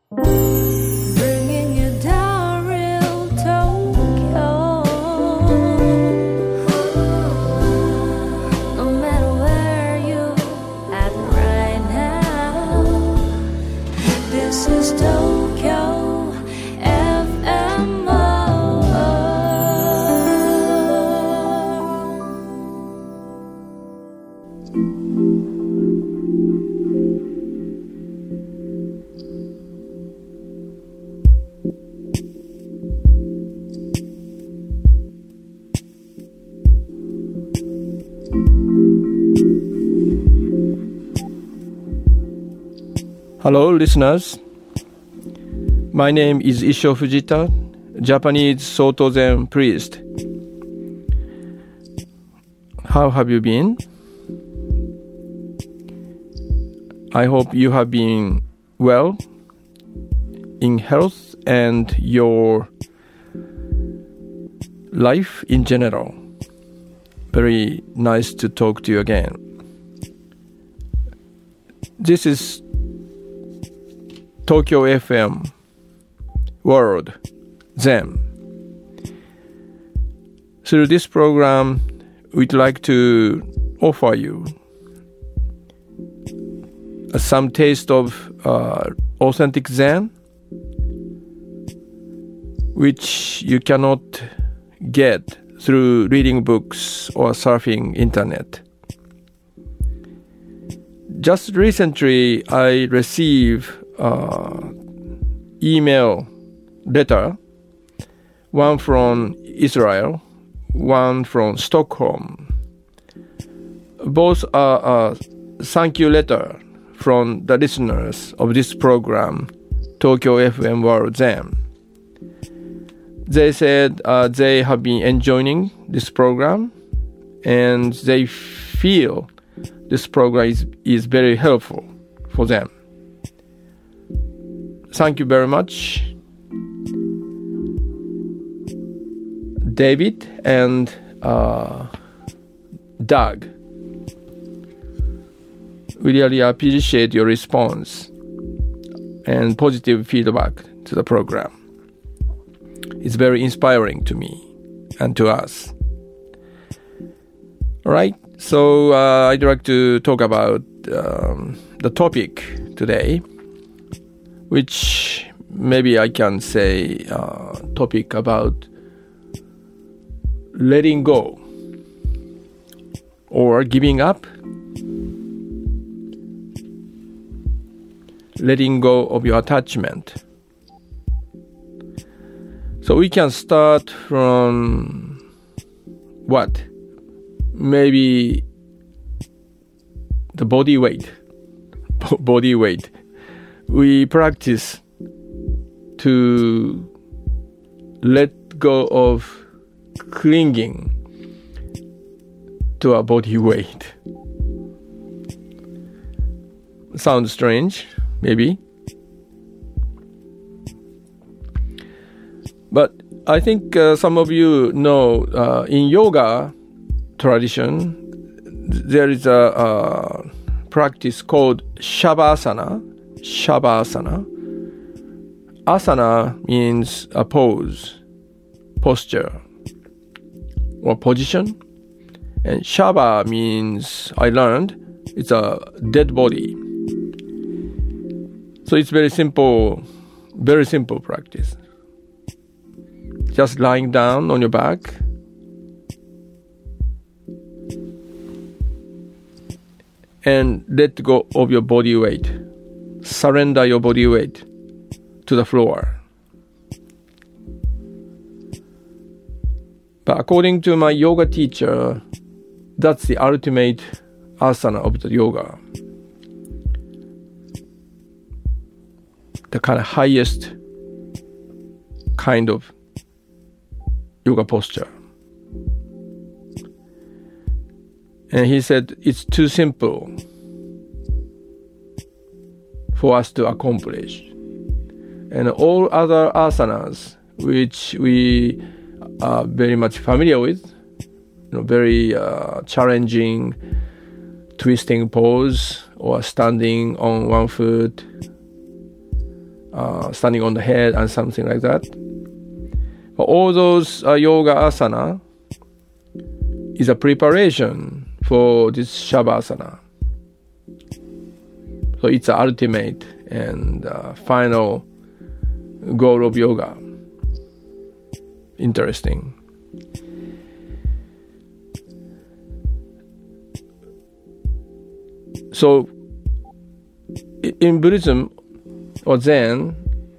Bringing you down real Tokyo. No matter where you at right now, this is Tokyo FM. Hello, listeners. My name is Issho Fujita, Japanese Soto Zen priest. How have you been? I hope you have been well in health and your life in general. Very nice to talk to you again. This is Tokyo FM World Zen. Through this program, we'd like to offer you some taste of authentic Zen, which you cannot get through reading books or surfing internet. Just recently, I received email letter, one from Israel, one from Stockholm. Both are thank you letter from the listeners of this program, Tokyo FM World Zen. They said they have been enjoying this program and they feel this program is very helpful for them. Thank you very much, David and Doug. We really appreciate your response and positive feedback to the program. It's very inspiring to me and to us. All right, so I'd like to talk about the topic today, which maybe I can say topic about letting go or giving up, letting go of your attachment. So we can start from what? Maybe the body weight. Body weight. We practice to let go of clinging to our body weight. Sounds strange, maybe. But I think some of you know in yoga tradition, there is a practice called Shavasana. Shavasana. Asana means a pose, posture, or position. And Shava means, I learned, it's a dead body. So it's very simple practice. Just lying down on your back. And let go of your body weight. Surrender your body weight to the floor. But according to my yoga teacher, that's the ultimate asana of the yoga. The kind of highest kind of yoga posture. And he said it's too simple for us to accomplish. And all other asanas, which we are very much familiar with, very challenging twisting pose or standing on one foot, standing on the head and something like that. But all those yoga asana is a preparation for this Shavasana. So it's the ultimate and final goal of yoga. Interesting. So in Buddhism or Zen,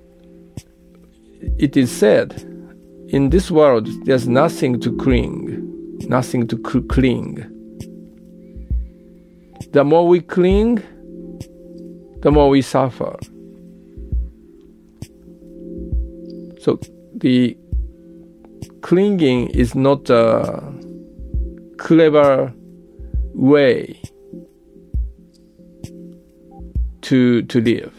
it is said, in this world there's nothing to cling, nothing to cling. The more we cling, the more we suffer. So the clinging is not a clever way to live.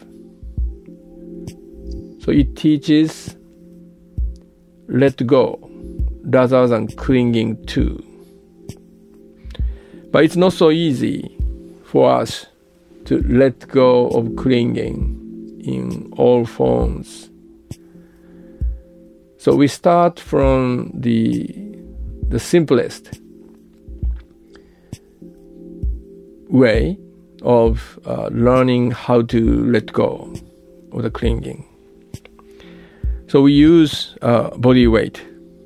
So it teaches let go rather than clinging to. But it's not so easy for us to let go of clinging in all forms. So we start from the simplest way of learning how to let go of the clinging. So we use body weight.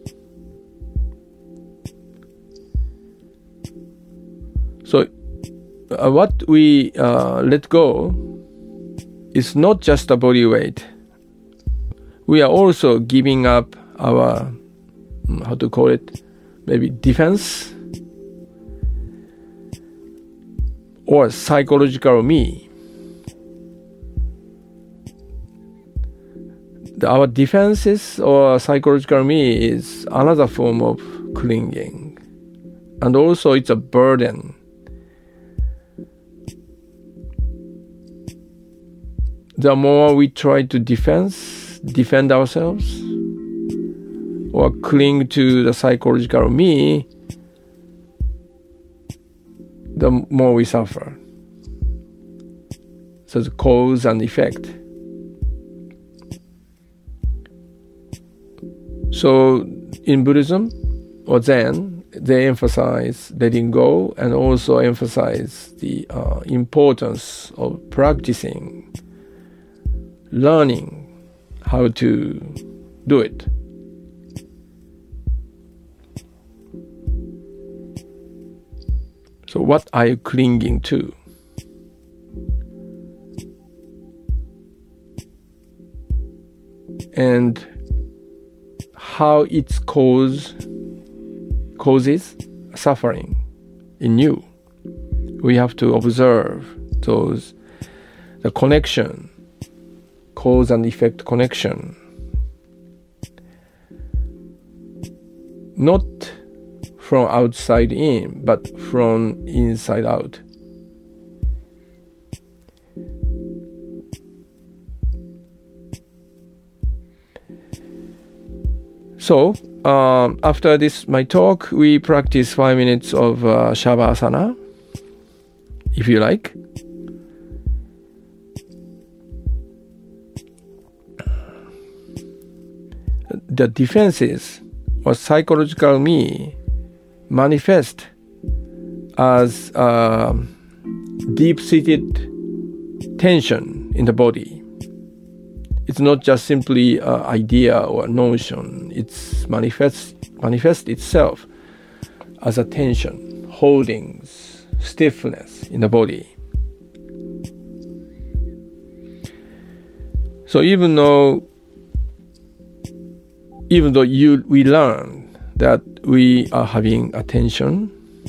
So what we let go is not just a body weight. We are also giving up our, how to call it, maybe defense or psychological me. Our defenses or psychological me is another form of clinging. And also it's a burden. The more we try to defend ourselves or cling to the psychological me, the more we suffer. So the cause and effect. So in Buddhism or Zen, they emphasize letting go and also emphasize the importance of practicing, learning how to do it. So what are you clinging to? And how its causes suffering in you. We have to observe the connection, cause and effect connection. Not from outside in, but from inside out. So, after this, my talk, we practice 5 minutes of Shavasana, if you like. The defenses or psychological me manifest as deep-seated tension in the body. It's not just simply an idea or a notion. It's manifests itself as a tension, holdings, stiffness in the body. So even though we learn that we are having attention,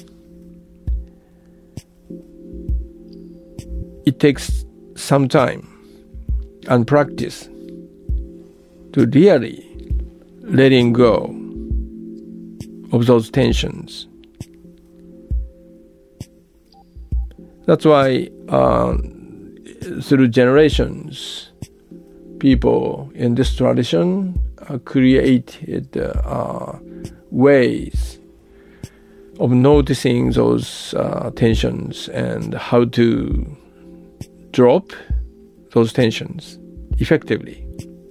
it takes some time and practice to really letting go of those tensions. That's why through generations, people in this tradition created ways of noticing those tensions and how to drop those tensions effectively.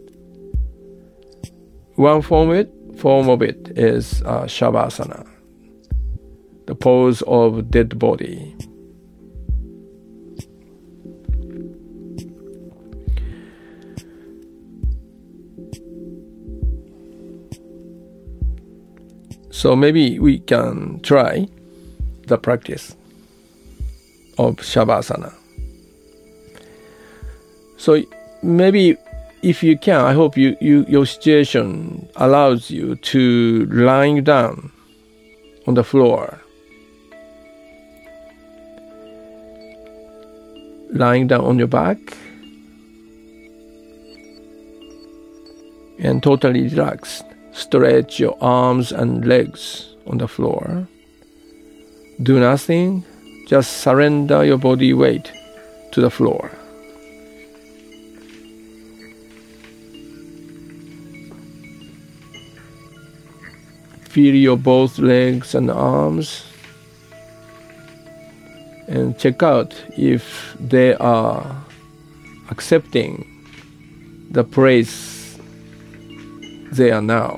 One form of it is Shavasana, the pose of dead body. So maybe we can try the practice of Shavasana. So maybe if you can, I hope your situation allows you to lying down on the floor. Lying down on your back and totally relaxed. Stretch your arms and legs on the floor. Do nothing, just surrender your body weight to the floor. Feel your both legs and arms and check out if they are accepting the place they are now.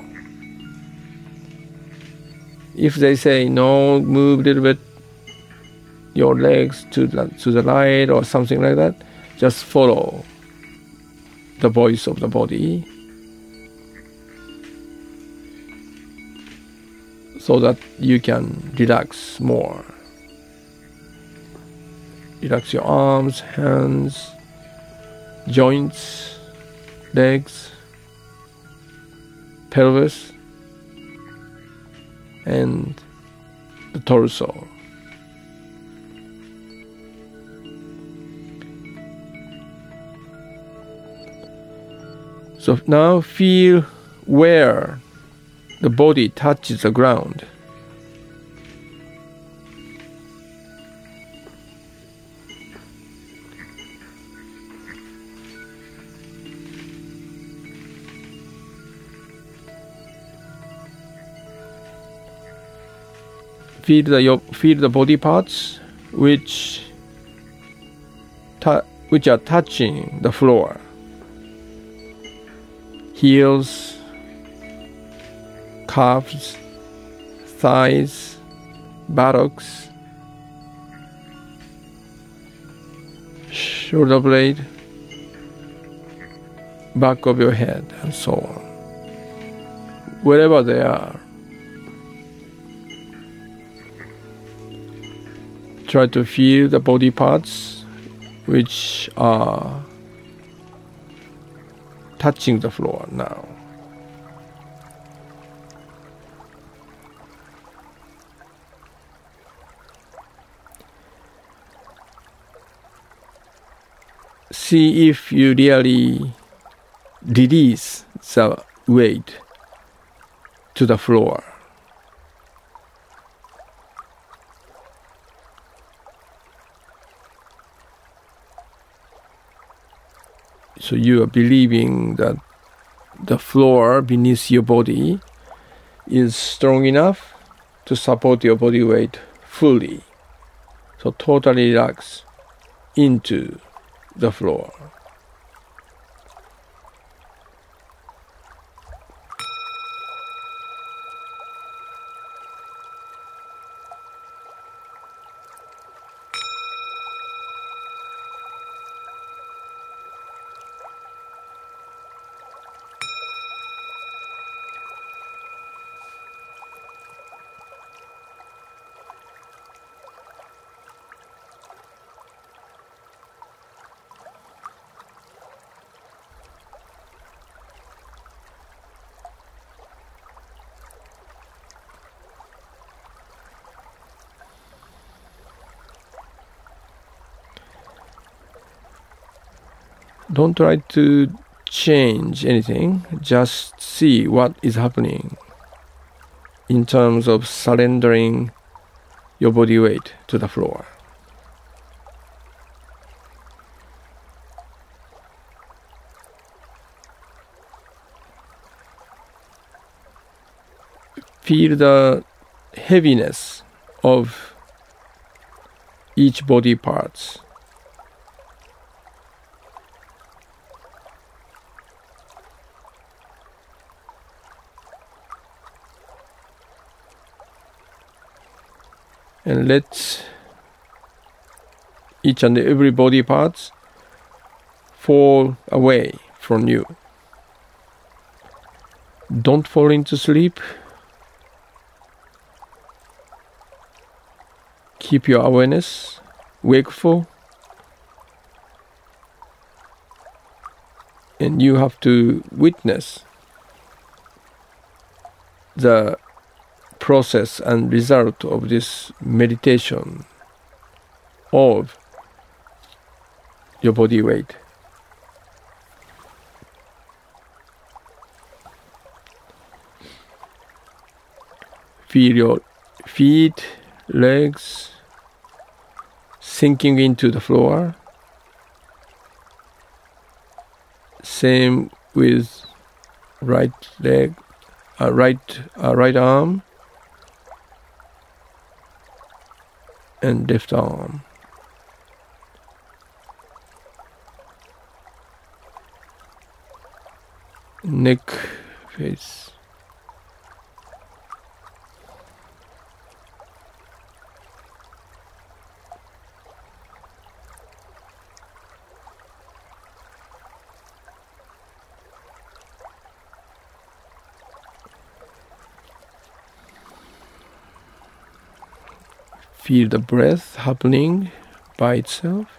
If they say no, move a little bit your legs to the right or something like that, just follow the voice of the body so that you can relax more. Relax your arms, hands, joints, legs, pelvis, and the torso. So now feel where the body touches the ground. Feel the body parts which are touching the floor. Heels, calves, thighs, buttocks, shoulder blade, back of your head, and so on. Wherever they are, try to feel the body parts which are touching the floor now. See if you really release the weight to the floor. So you are believing that the floor beneath your body is strong enough to support your body weight fully. So totally relax into the floor. Don't try to change anything, just see what is happening in terms of surrendering your body weight to the floor. Feel the heaviness of each body parts. and let each and every body parts fall away from you. Don't fall into sleep. Keep your awareness wakeful, and you have to witness the process and result of this meditation of your body weight. Feel your feet, legs sinking into the floor. Same with right leg, right arm and left arm. Neck, face. Feel the breath happening by itself.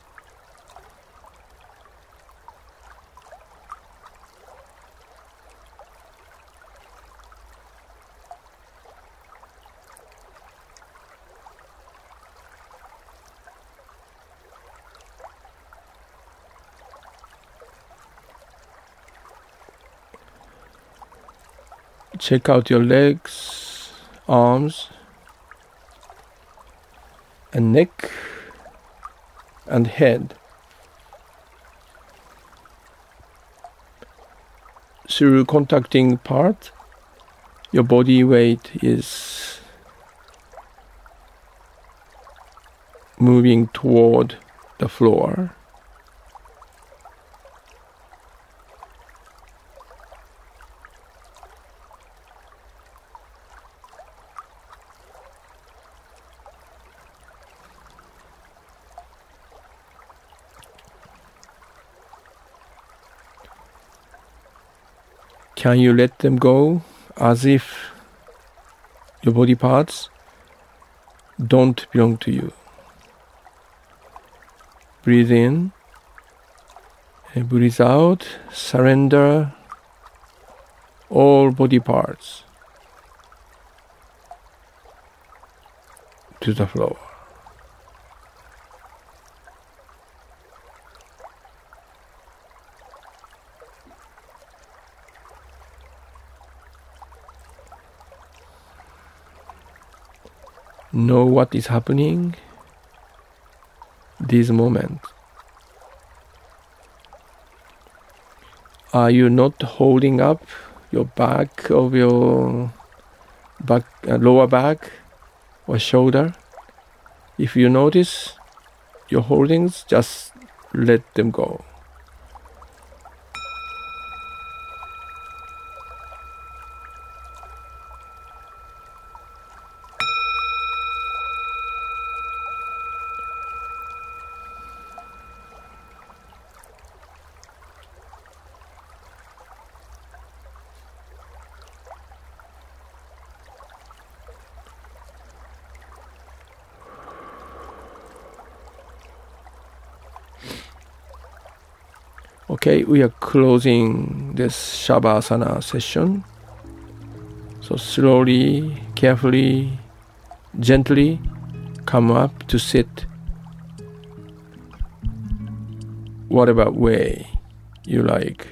Check out your legs, arms, and neck and head. Through contacting part, your body weight is moving toward the floor. Can you let them go as if your body parts don't belong to you? Breathe in and breathe out. Surrender all body parts to the floor. Know what is happening this moment. Are you not holding up your back of your lower back or shoulder? If you notice your holdings, just let them go. Okay, we are closing this Shavasana session. So slowly, carefully, gently come up to sit whatever way you like.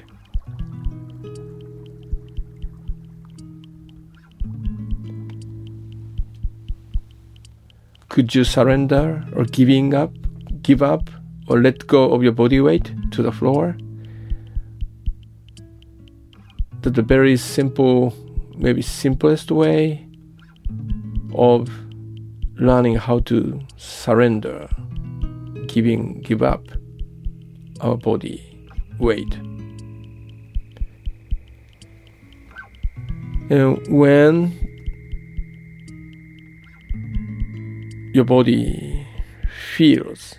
Could you surrender or give up or let go of your body weight to the floor? That's a very simple, maybe simplest way of learning how to surrender, give up our body weight. And when your body feels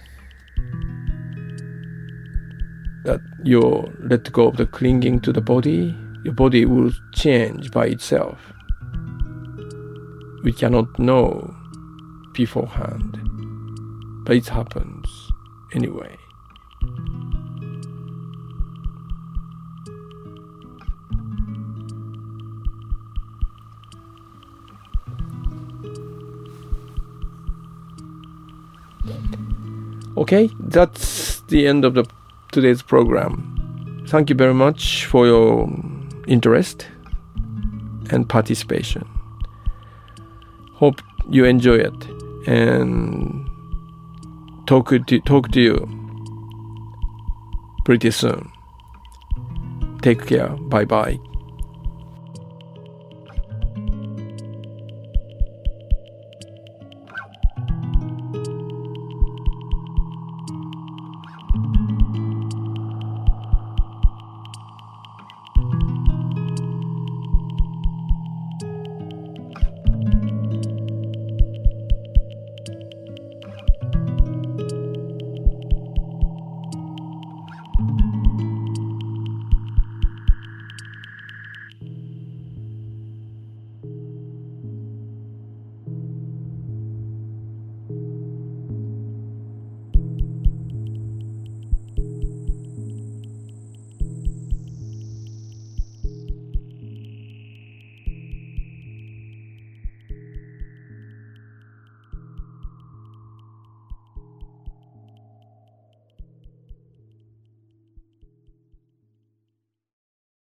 that you let go of the clinging to the body, your body will change by itself. We cannot know beforehand, but it happens anyway. Okay, that's the end of today's program. Thank you very much for your interest and participation. Hope you enjoy it and talk to you pretty soon. Take care. Bye bye.